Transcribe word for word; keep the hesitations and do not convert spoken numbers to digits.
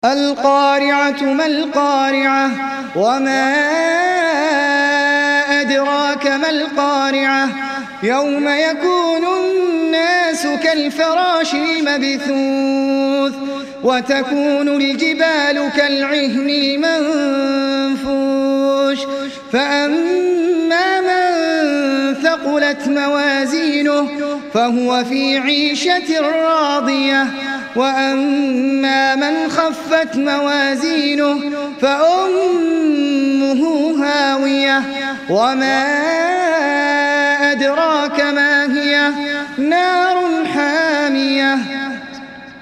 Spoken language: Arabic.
القارعة ما القارعة وما أدراك ما القارعة يوم يكون الناس كالفراش المبثوث وتكون الجبال كالعهن المنفوش فأما من ثقلت موازينه فهو في عيشة راضية وأما من خفت موازينه فأمه هاوية وما أدراك ما هي نار